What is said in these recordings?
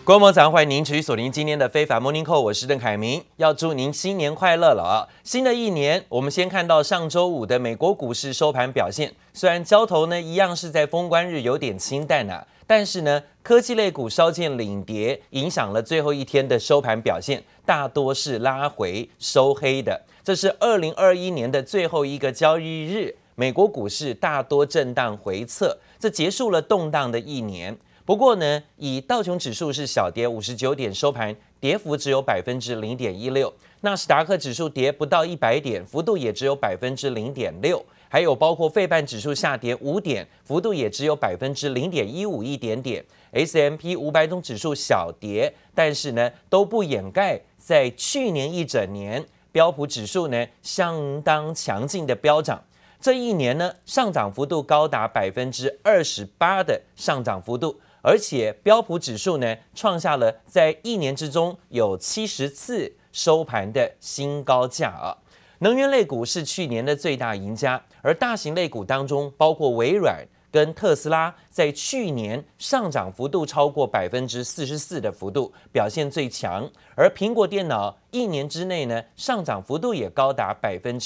觀眾早上歡迎您持續鎖定今天的非凡 Morning Call， 我是鄧凱明，要祝您新年快樂了啊！新的一年，我們先看到上周五的美國股市收盤表現，雖然交投呢一樣是在封關日有點清淡啊，但是呢科技類股稍見領跌，影響了最後一天的收盤表現，大多是拉回收黑的。這是2021年的最後一個交易日，美國股市大多震盪回測，這結束了動盪的一年。不過呢，以道瓊指數是小跌59點收盤，跌幅只有0.16%，納斯達克指數跌不到100點，幅度也只有0.6%，還有包括費半指數下跌5點，幅度也只有0.151一點點。S&P 500種指數小跌，但是呢都不掩蓋在去年一整年標普指數呢相當強勁的飆漲。這一年呢上漲幅度高達28%的上漲幅度。而且標普指數呢，創下了在一年之中有70次收盤的新高價啊。能源類股是去年的最大贏家，而大型類股當中，包括微軟跟特斯拉，在去年上漲幅度超過44%的幅度，表現最強。而蘋果電腦一年之內呢，上漲幅度也高達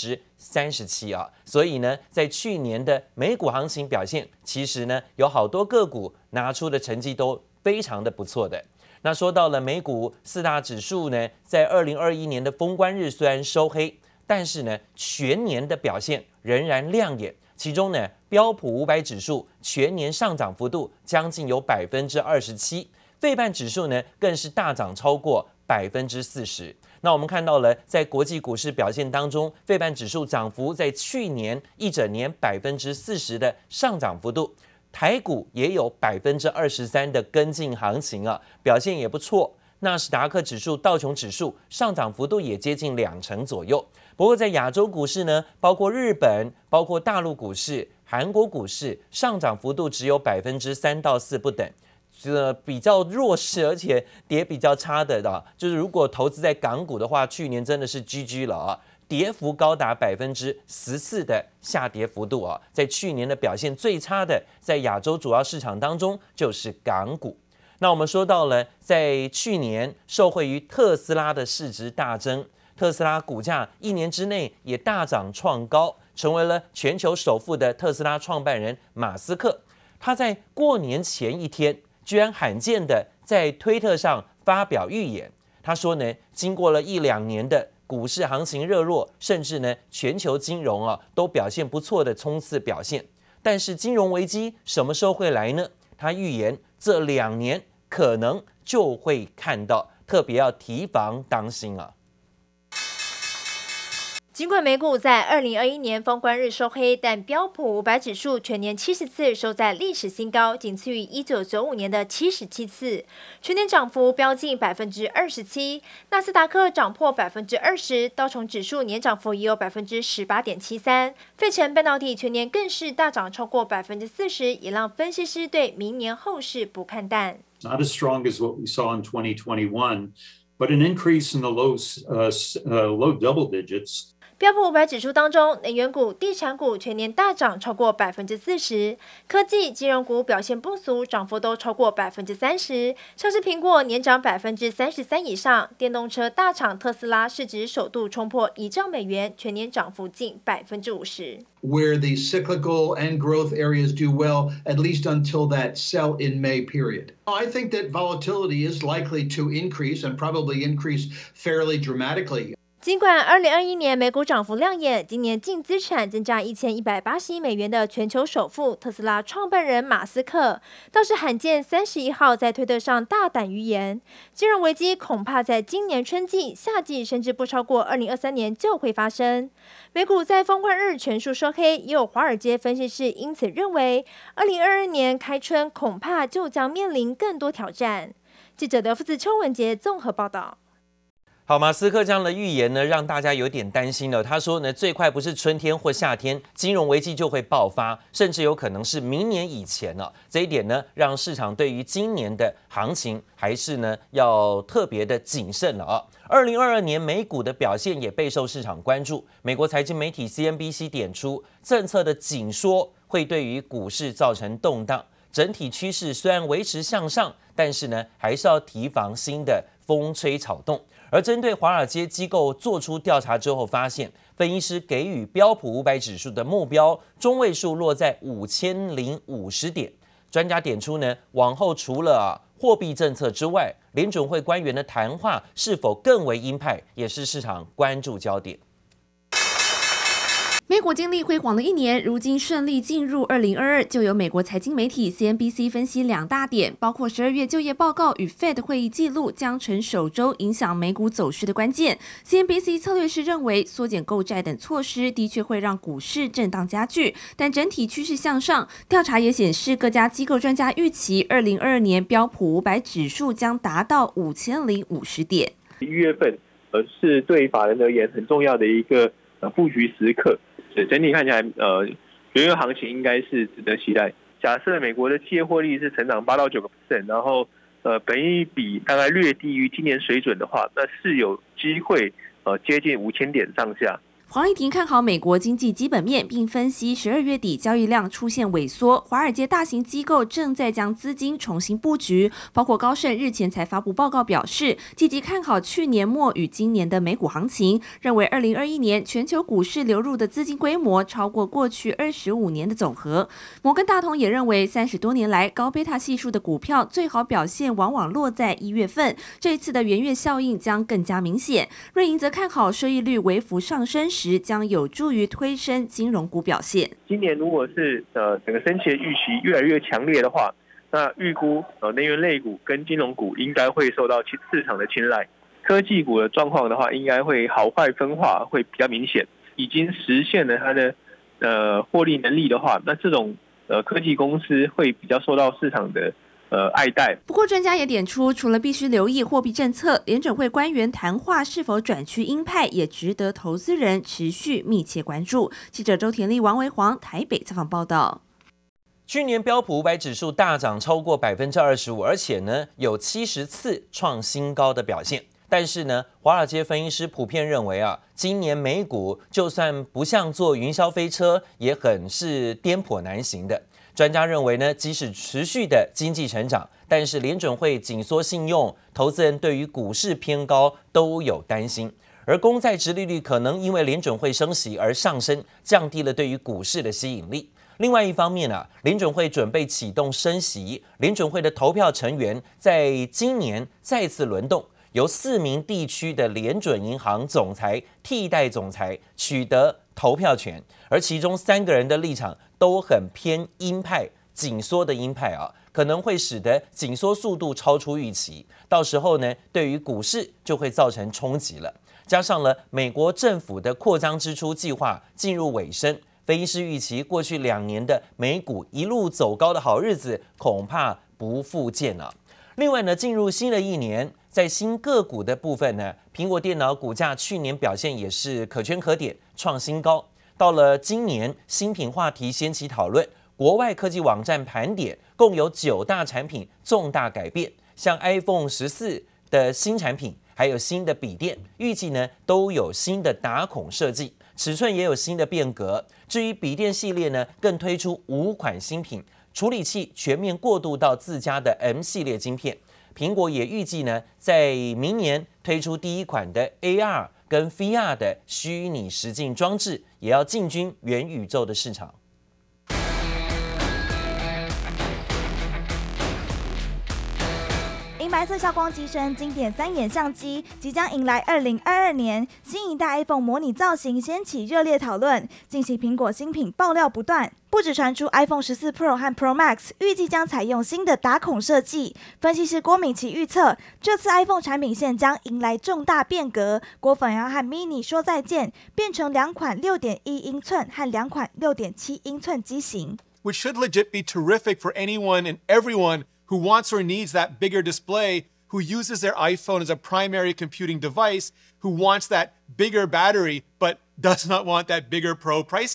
37%啊。所以呢，在去年的美股行情表現，其實呢，有好多個股拿出的成績都非常的不錯的。那說到了美股四大指數呢，在2021年的封關日雖然收黑，但是呢，全年的表現仍然亮眼。其中呢，標普500指數全年上漲幅度將近有27%，費半指數呢更是大漲超過40%。那我們看到了，在國際股市表現當中，費半指數漲幅在去年一整年40%的上漲幅度，台股也有23%的跟進行情啊，表現也不錯。納斯達克指數、道瓊指數上漲幅度也接近2成左右。不過在亞洲股市呢，包括日本、包括大陸股市、韓國股市，上漲幅度只有3%到4%不等。比較弱勢而且跌比較差的就是如果投資在港股的話，去年真的是 GG 了啊，跌幅高達14%的下跌幅度啊，在去年的表現最差的，在亞洲主要市場當中就是港股。那我們說到了，在去年受惠於特斯拉的市值大增，特斯拉股價一年之內也大漲創高，成為了全球首富的特斯拉創辦人馬斯克。他在過年前一天，居然罕見的在推特上發表預言。他說呢，經過了1-2年的股市行情熱絡，甚至呢全球金融都表現不錯的衝刺表現，但是金融危機什麼時候會來呢？他預言這2年可能就會看到，特別要提防當心啊。 儘管美股在2021年封關日收黑，但標普500指數全年70次收在歷史新高，僅次於1995年的77次，全年漲幅飆近27%。納斯達克漲破20%，道瓊指數年漲幅也有18.73%。費城半導體全年更是大漲超過40%，也讓分析師對明年後市不看淡。 Not as strong as what we saw in 2021, but an increase in the low double digits. 標普500指數當中，能源股、地產股全年大漲超過40%，科技、金融股表現不俗，漲幅都超過30%。像是蘋果年漲33%以上，電動車大廠特斯拉市值首度衝破1兆美元，全年漲幅近50%。 Where the cyclical and growth areas do well, at least until that sell in May period. I think that volatility is likely to increase and probably increase fairly dramatically. 儘管2021年美股漲幅亮眼，今年淨資產增加1180億美元的全球首富特斯拉創辦人馬斯克，倒是罕見31號在推特上大膽預言，金融危機恐怕在今年春季、夏季，甚至不超過2023年就會發生。美股在封關日全數收黑，也有華爾街分析師因此認為，2022年開春恐怕就將面臨更多挑戰。記者德夫子邱文杰綜合報道。 好，馬斯克這樣的預言呢，讓大家有點擔心了。他說呢，最快不是春天或夏天，金融危機就會爆發，甚至有可能是明年以前了。這一點呢，讓市場對於今年的行情還是呢要特別的謹慎了啊。2022年美股的表現也備受市場關注。美國財經媒體 CNBC 點出，政策的緊縮會對於股市造成動盪。 整體趨勢雖然維持向上，但是呢，還是要提防新的風吹草動。而針對華爾街機構做出調查之後，發現分析師給予標普500指數的目標中位數落在5050點。專家點出呢，往後除了貨幣政策之外，聯準會官員的談話是否更為鷹派，也是市場關注焦點。 美股經歷輝煌的一年，如今順利進入2022，就有美國財經媒體 CNBC 分析2大點，包括12月就業報告與 Fed 會議記錄將成首周影響美股走勢的關鍵。CNBC 策略師認為，縮減購債等措施的確會讓股市震盪加劇，但整體趨勢向上。調查也顯示，各家機構專家預期2022年標普500指數將達到5050點。 1月份是對法人而言很重要的一個布局時刻。整體看起來，元月行情應該是值得期待。假設美國的企業獲利是成長8到9%，然後本益比大概略低於今年水準的話，那是有機會接近5000點上下。 黃麗婷看好美國經濟基本面，並分析12月底交易量出現萎縮，華爾街大型機構正在將資金重新布局，包括高盛日前才發布報告表示，積極看好去年末與今年的美股行情，認為2021年全球股市流入的資金規模超過過去25年的總和。摩根大通也認為，30多年來高貝塔係數的股票最好表現往往落在1月份，這一次的元月效應將更加明顯。瑞銀則看好收益率微幅上升時，將有助於推升金融股表現。 今年如果是整個升息的預期越來越強烈的話，那預估能源類股跟金融股應該會受到市場的青睞。科技股的狀況的話，應該會好壞分化會比較明顯。已經實現了它的獲利能力的話，那這種科技公司會比較受到市場的愛戴。 不過，專家也點出，除了必須留意貨幣政策，聯準會官員談話是否轉趨鷹派，也值得投資人持續密切關注。記者周田麗、王維煌台北採訪報道。 去年標普500指數大漲超過25%，而且呢有70次創新高的表現。但是呢，華爾街分析師普遍認為今年美股就算不像坐雲霄飛車，也很是顛簸難行的。專家認為呢，即使持續的經濟成長，但是聯準會緊縮信用，投資人對於股市偏高都有擔心。而公債殖利率可能因為聯準會升息而上升，降低了對於股市的吸引力。另外一方面聯準會準備啟動升息，聯準會的投票成員在今年再次輪動，由4名地區的聯準銀行總裁替代總裁取得投票權，而其中3個人的立場都很偏鷹派，緊縮的鷹派可能會使得緊縮速度超出預期，到時候呢，對於股市就會造成衝擊了。加上了美國政府的擴張支出計劃進入尾聲，分析師預期過去2年的美股一路走高的好日子恐怕不復見了。另外呢，進入新的一年，在新個股的部分呢，蘋果電腦股價去年表現也是可圈可點，創新高。到了今年，新品話題掀起討論，國外科技網站盤點，共有9大產品重大改變，像 iPhone 14的新產品，還有新的筆電，預計呢都有新的打孔設計，尺寸也有新的變革。至於筆電系列呢，更推出5款新品，處理器全面過渡到自家的 M 系列晶片。蘋果也預計呢，在明年推出第一款的 AR 跟 VR 的虛擬實境裝置，也要進軍元宇宙的市場。 銀白色效光機身經典3眼相機即將迎來2022年，新一代 iPhone 模擬造型掀起熱烈討論。近期蘋果新品爆料不斷，不只傳出 iPhone 14 Pro 和 Pro Max 預計將採用新的打孔設計。分析師郭敏琪預測，這次 iPhone 產品線將迎來重大變革，果粉要和 Mini 說再見，變成2款6.1英寸和2款6.7英寸機型。 Which should legit be terrific for anyone and everyone who wants or needs that bigger display, who uses their iPhone as a primary computing device, who wants that bigger battery, but does not want that bigger Pro price tag.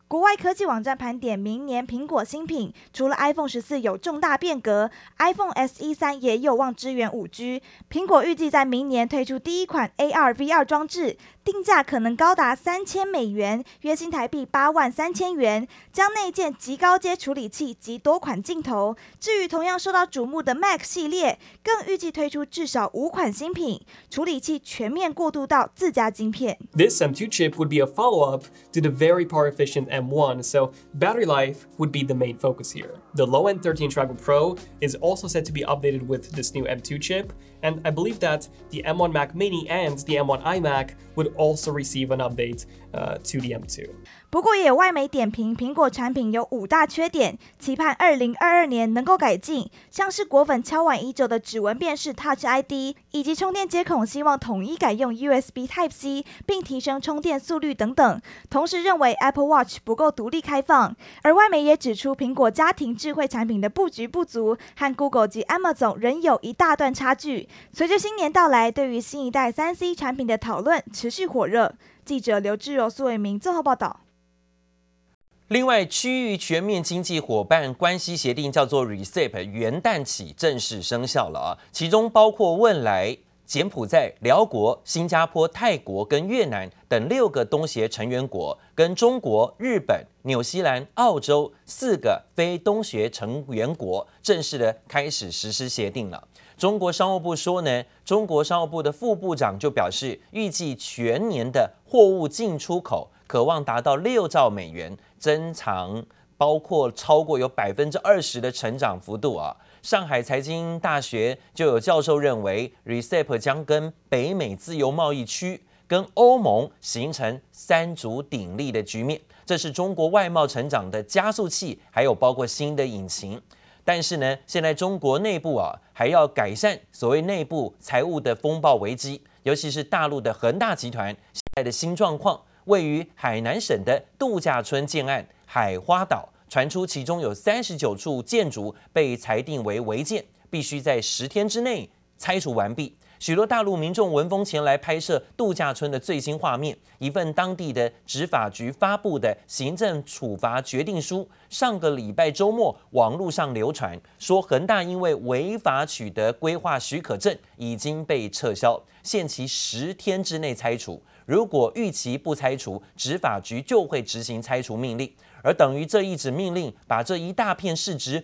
國外科技網站盤點明年蘋果新品，除了 iPhone 14有重大變革 ，iPhone SE 3也有望支援 5G。蘋果預計在明年推出第一款 AR/VR 裝置，定價可能高達$3000，約新台幣83000元，將內建極高階處理器及多款鏡頭。至於同樣受到矚目的 Mac 系列，更預計推出至少5款新品，處理器全面過渡到自家晶片。 This M2 chip would be a follow-up to the very power-efficient M1, so battery life would be the main focus here. The low-end 13-inch MacBook Pro is also set to be updated with this new M2 chip, and I believe that the M1 Mac Mini and the M1 iMac would also receive an update to the M2. 不過也有外媒點評，蘋果產品有5大缺點，期盼2022年能夠改進，像是果粉敲碗已久的指紋辨識 Touch ID， 以及充電接孔希望統一改用 USB Type-C， 並提升充電速率等等。同時認為 Apple Watch 不夠獨立開放，而外媒也指出蘋果家庭智慧產品的布局不足，和 Google 及 Amazon 仍有一大段差距。隨着新年到來，對於新一代3C 產品的討論持續火熱。記者劉志柔、蘇偉明綜合報道。 另外，區域全面經濟夥伴關係協定叫做 RCEP， 元旦起正式生效了啊，其中包括汶萊、柬埔寨、寮國、新加坡、泰國跟越南等6個東協成員國，跟中國、日本、紐西蘭、澳洲4個非東協成員國正式的開始實施協定了。中國商務部說呢，中國商務部的副部長就表示，預計全年的貨物進出口可望達到6兆美元，增長包括超過有20%的成長幅度啊。上海財經大學就有教授認為 ，RCEP 將跟北美自由貿易區跟歐盟形成3足鼎立的局面，這是中國外貿成長的加速器，還有包括新的引擎。但是呢，現在中國內部還要改善所謂內部財務的風暴危機，尤其是大陸的恆大集團現在的新狀況，位於海南省的度假村建案海花島，傳出其中有39處建築被裁定為違建，必須在10天之內拆除完畢。許多大陸民眾聞風前來拍攝度假村的最新畫面。一份當地的執法局發布的行政處罰決定書，上個禮拜週末網絡上流傳，說恆大因為違法取得規劃許可證，已經被撤銷，限期10天之內拆除。如果逾期不拆除，執法局就會執行拆除命令。而等於這一紙命令，把這一大片市值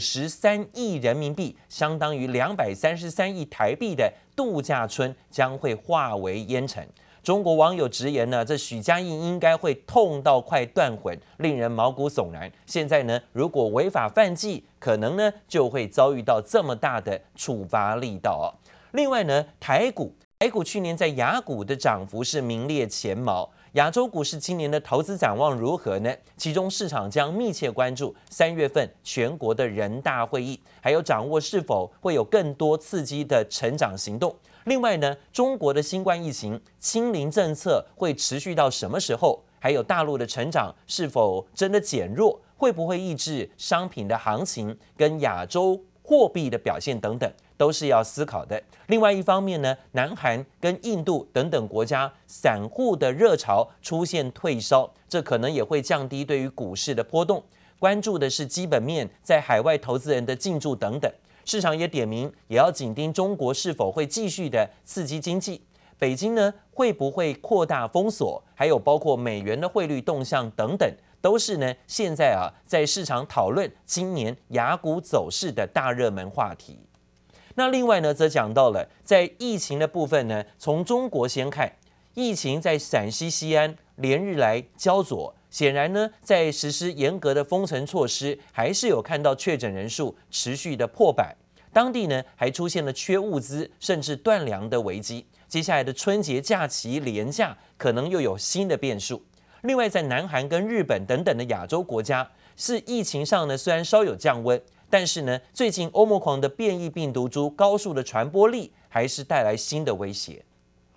53億人民幣，相當於233億台幣的度假村將會化為煙塵。中國網友直言呢，這許家印應該會痛到快斷魂，令人毛骨悚然。現在呢，如果違法犯紀，可能呢就會遭遇到這麼大的處罰力道哦。另外呢，台股去年在亞股的漲幅是名列前茅。亞洲股市今年的投資展望如何呢？其中市場將密切關注3月份全國的人大會議，還有掌握是否會有更多刺激的成長行動。另外呢，中國的新冠疫情清零政策會持續到什麼時候？還有大陸的成長是否真的減弱？會不會抑制商品的行情？跟亞洲貨幣的表現等等，都是要思考的。另外一方面呢，南韓跟印度等等國家散戶的熱潮出現退燒，這可能也會降低對於股市的波動。關注的是基本面，在海外投資人的進駐等等。市場也點名，也要緊盯中國是否會繼續的刺激經濟。北京呢，會不會擴大封鎖？還有包括美元的匯率動向等等，都是呢現在在市場討論今年亞股走勢的大熱門話題。那另外呢，則講到了在疫情的部分呢，從中國先看，疫情在陝西西安連日來焦灼，顯然呢，在實施嚴格的封城措施，還是有看到確診人數持續的破百，當地呢還出現了缺物資甚至斷糧的危機。接下來的春節假期連假可能又有新的變數。另外，在南韓跟日本等等的亞洲國家，是疫情上呢雖然稍有降溫，但是呢，最近歐盟狂的變異病毒株高速的傳播力，還是帶來新的威脅。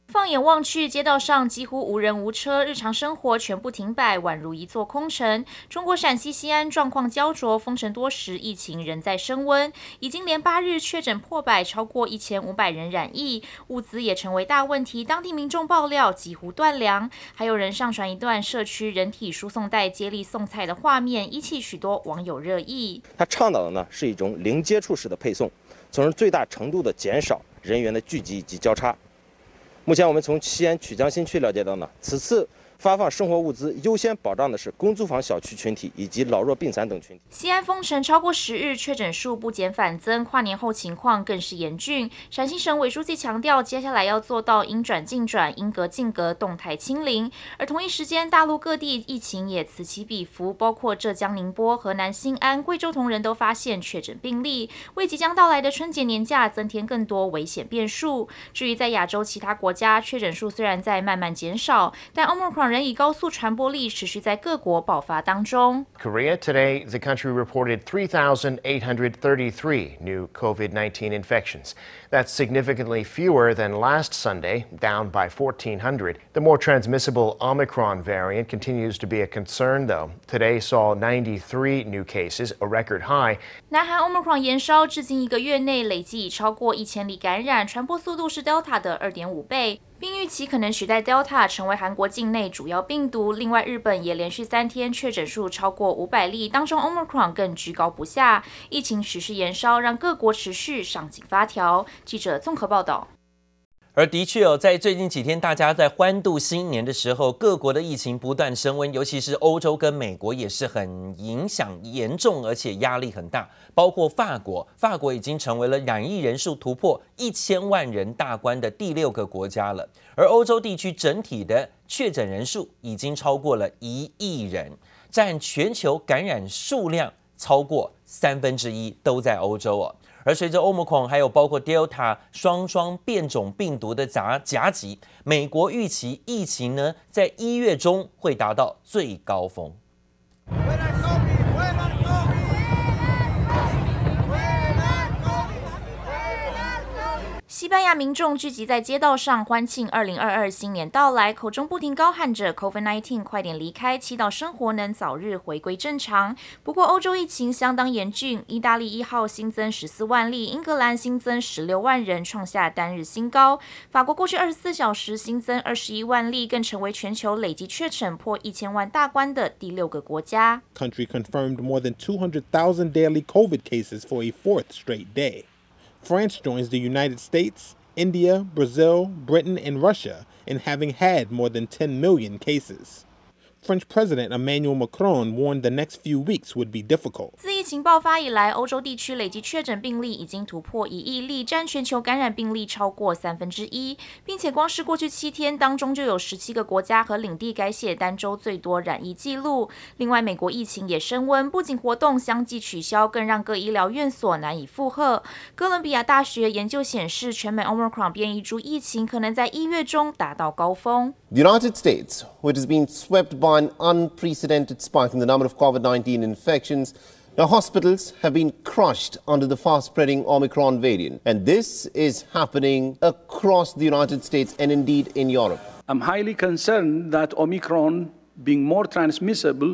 放眼望去，街道上幾乎無人無車，日常生活全部停擺，宛如一座空城。中國陝西西安狀況焦灼，封城多時，疫情仍在升溫，已經連8日確診破百，超過1500人染疫，物資也成為大問題。當地民眾爆料幾乎斷糧，還有人上傳一段社區人體輸送帶接力送菜的畫面，引起許多網友熱議。 他倡導的呢是一種零接觸式的配送，從而最大程度的減少人員的聚集以及交叉。目前我們從西安曲江新區了解到呢，此次發放生活物資優先保障的是公租房小區群體以及老弱病殘等群體。 西安封城超過10日，確診數不減反增，跨年後情況更是嚴峻。陝西省委書記強調，接下來要做到應轉盡轉、應隔盡隔，動態清零。而同一時間，大陸各地疫情也此起彼伏，包括浙江寧波、河南新安、貴州同仁都發現確診病例，為即將到來的春節年假增添更多危險變數。至於在亞洲其他國家，確診數雖然在慢慢減少，但 Omicron 仍以高速傳播力持續在各國爆發當中。 Korea, today, the country reported 3,833 new COVID-19 infections. That's significantly fewer than last Sunday, down by 1,400. The more transmissible Omicron variant continues to be a concern, though. Today saw 93 new cases, a record high. 南韓 Omicron 延燒，至今1個月內累計已超過1000例感染，傳播速度是 Delta 的2.5倍。並預期可能取代 Delta 成為韓國境內主要病毒。另外，日本也連續3天確診數超過500例，當中 Omicron 更居高不下。疫情持續延燒，讓各國持續上緊發條。記者綜合報道。 而的確在最近幾天，大家在歡度新年的時候，各國的疫情不斷升溫，尤其是歐洲跟美國也是很影響嚴重，而且壓力很大。包括法國已經成為了染疫人數突破1000萬人大關的第6個國家了。而歐洲地區整體的確診人數已經超過了1億人，佔全球感染數量超過1/3都在歐洲哦。而隨着 Omicron 還有包括 Delta 雙變種病毒的夾擊，美國預期疫情呢在1月中會達到最高峰。 西班牙民眾聚集在街道上歡慶2022新年到來，口中不停高喊着 COVID-19 快點離開，祈禱生活能早日回歸正常。不過歐洲疫情相當嚴峻，意大利1號新增14萬例，英格蘭新增16萬人，創下單日新高。法國過去24小時新增21萬例，更成為全球累計確診破1000萬大關的第6個國家。 Country confirmed more than 200,000 daily COVID cases for a 4th straight day. France joins the United States, India, Brazil, Britain, and Russia in having had more than 10 million cases. French President Emmanuel Macron warned the next few weeks would be difficult. 自疫情爆發以來，歐洲地區累計確診病例已經突破1億例，佔全球感染病例超過1/3，並且光是過去7天當中就有17個國家和領地改寫單周最多染疫記錄。另外，美國疫情也升溫，不僅活動相繼取消，更讓各醫療院所難以負荷。哥倫比亞大學研究顯示，全美 Omicron 變異株疫情可能在1月中達到高峰。 The United States, which has been swept by an unprecedented spike in the number of COVID-19 infections, now hospitals have been crushed under the fast-spreading Omicron variant. And this is happening across the United States and indeed in Europe. I'm highly concerned that Omicron, being more transmissible,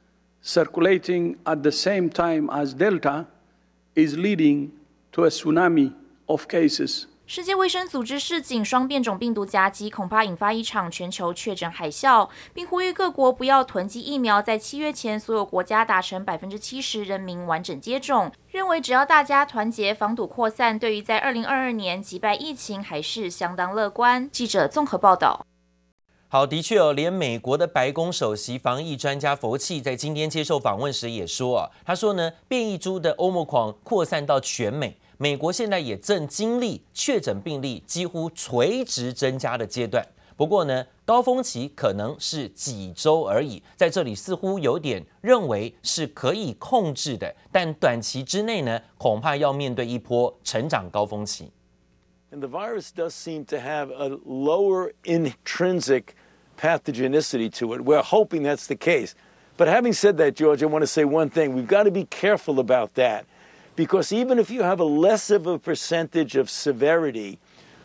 circulating at the same time as Delta, is leading to a tsunami of cases. 世界衛生組織示警，雙變種病毒夾擊恐怕引發一場全球確診海嘯，並呼籲各國不要囤積疫苗，在7月前所有國家達成70%人民完整接種。認為只要大家團結，防堵擴散，對於在2022年擊敗疫情還是相當樂觀。記者綜合報道。 好，的確連美國的白宮首席防疫專家佛奇在今天接受訪問時也說他說呢，變異株的 Omicron 擴散到全美。美國現在也正經歷確診病例幾乎垂直增加的階段，不過呢，高峰期可能是幾週而已，在這裡似乎有點認為是可以控制的，但短期之內呢，恐怕要面對一波成長高峰期。 And the virus does seem to have a lower intrinsic pathogenicity to it. We're hoping that's the case. But having said that, George, I want to say one thing. We've got to be careful about that. Because even if you have a less of a percentage of severity,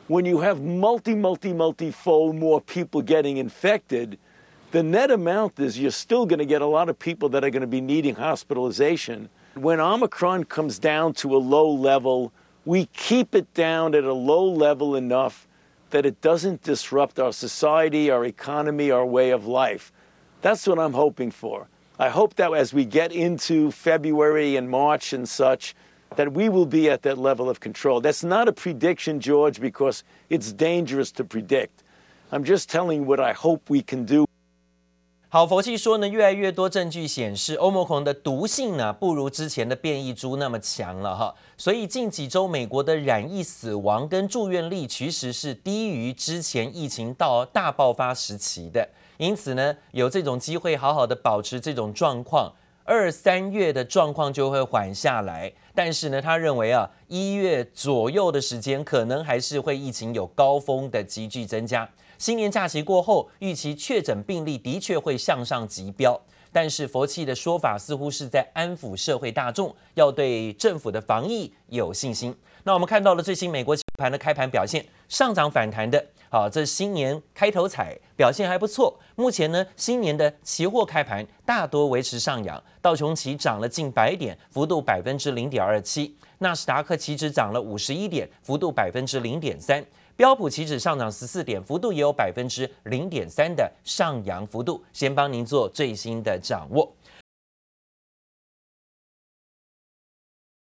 when you have multifold more people getting infected, the net amount is you're still going to get a lot of people that are going to be needing hospitalization. When Omicron comes down to a low level, we keep it down at a low level enough that it doesn't disrupt our society, our economy, our way of life. That's what I'm hoping for. I hope that as we get into February and March and such, that we will be at that level of control. That's not a prediction, George, because it's dangerous to predict. I'm just telling you what I hope we can do. 好，佛系说呢，越来越多证据显示，Omicron的毒性呢不如之前的变异株那么强了哈，所以近几周美国的染疫死亡跟住院率其實是低於之前疫情到大爆發時期的，因此呢，有這種機會好好的保持這種狀況，2、3月的狀況就會緩下來。但是呢，他認為啊，1月左右的時間可能還是會疫情有高峰的急劇增加。新年假期過後，預期確診病例的確會向上急飆，但是佛系的說法似乎是在安撫社會大眾，要對政府的防疫有信心。那我們看到了最新美國期盤的開盤表現，上漲反彈的，這新年開頭彩表現還不錯。目前呢，新年的期貨開盤大多維持上揚，道瓊期漲了近100點，幅度0.27%，納斯達克期指漲了51點，幅度0.3%。標普期指上漲14點，幅度也有0.3%的上揚幅度。先幫您做最新的掌握。